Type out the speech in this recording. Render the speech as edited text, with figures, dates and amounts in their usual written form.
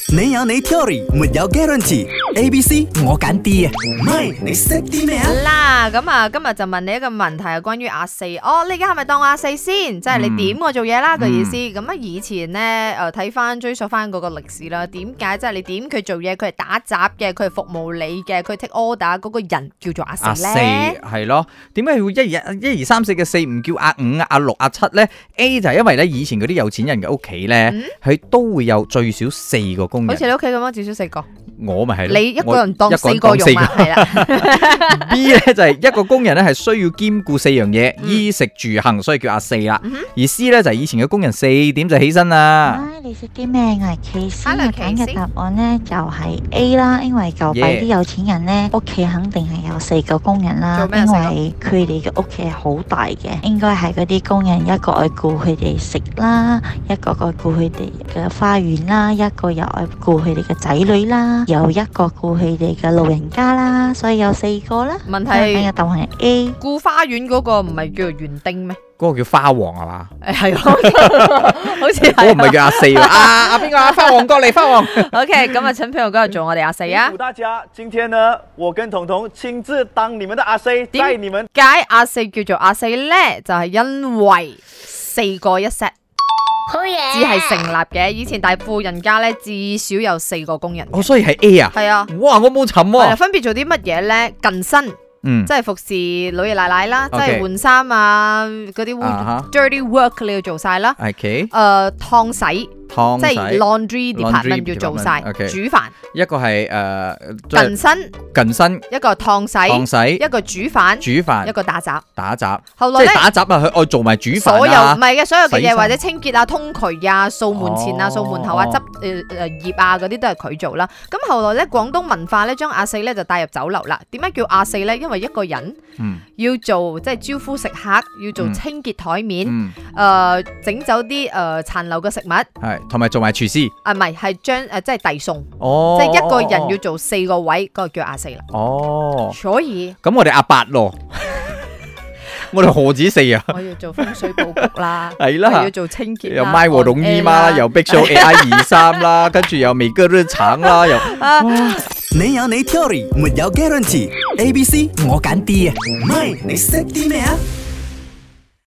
你有你 theory， 沒有 guarantee。A、B、C 我揀 D 啊，唔係你識啲咩啊？ 啦，咁啊，今日就問你一個問題，係關於阿四。哦，你而家係咪當我阿四先？即係你點我做嘢啦個意思。咁啊，以前咧睇翻追溯翻嗰個歷史啦，點解即係你點佢做嘢，佢係打雜嘅，佢係服務你嘅，佢 take order 嗰個人叫做阿四咧？ 係咯，點解會一二三四嘅四唔叫阿五、阿六、阿七咧 ？A 就係因為咧以前嗰啲有錢人嘅屋企咧，佢都會有最少4個工人。 好似你屋企咁樣，至少4個。 我咪係你一個人當4個用啊？係啦。 B 咧就係一個工人咧係需要兼顧4樣嘢，衣食住行，所以叫阿四啦。而 C 咧就係以前嘅工人4點就起身啦。 你識啲咩？我係 K C， 我揀嘅答案咧就係 A 啦，因為舊幣啲有錢人咧屋企肯定係有4個工人啦，因為佢哋嘅屋企係好大嘅，應該係嗰啲工人一個愛顧佢哋食啦，一個愛顧佢哋嘅花園啦，一個又愛顧佢哋嘅仔女啦，有一個顧佢哋嘅老人家啦，所以有4個啦。 問題係答案係 A。 顧花園嗰個唔係叫做園丁咩？ 嗰個叫花王係嘛？ 係好似係。 嗰個唔係叫阿四喎。阿邊個啊？花王過嚟，花王。 OK， 咁啊，陳朋友今日做我哋阿四啊。 祝大家，今天呢，我跟彤彤親自當你們的阿四，帶你們。 解阿四叫做阿四咧，就係因為4個一 set。 好嘢， 只係成立嘅。以前大富人家咧，至少有4個工人。 哦，所以係 A 啊。 係啊。 哇，我冇沉喎。 分別做啲乜嘢咧？近身。即係服侍老爺奶奶啦，即係換衫啊，嗰啲 dirty work 你要做晒啦。 OK。 燙洗，即係 laundry department 要做晒。煮飯， 一個係近身， 一個燙洗，一個煮飯，一個打雜。後來咧， 即係打雜啊，佢愛做埋煮飯啊。 所有唔係嘅，所有嘅嘢或者清潔啊、通渠啊、掃門前啊、掃門後啊、執葉啊嗰啲都係佢做啦。咁後來咧，廣東文化咧將阿四咧就帶入酒樓啦。點解叫阿四咧？因為一個人要做即係招呼食客，要做清潔台面，整走啲殘留嘅食物， 係同埋做埋廚師。 唔係，係將即係遞餸，即係一個人要做4個位，嗰個叫阿四啦。 哦， 所以咁我哋阿8咯，我哋何止4啊？ 我要做風水佈局啦， 係啦， 要做清潔啦， 又賣和龍姨媽啦，又 Big Show AI23啦，跟住又美哥都橙啦，又。 你有你 theory， 沒有 guarantee。A、B、C 我揀 D 啊，唔係你識啲咩啊？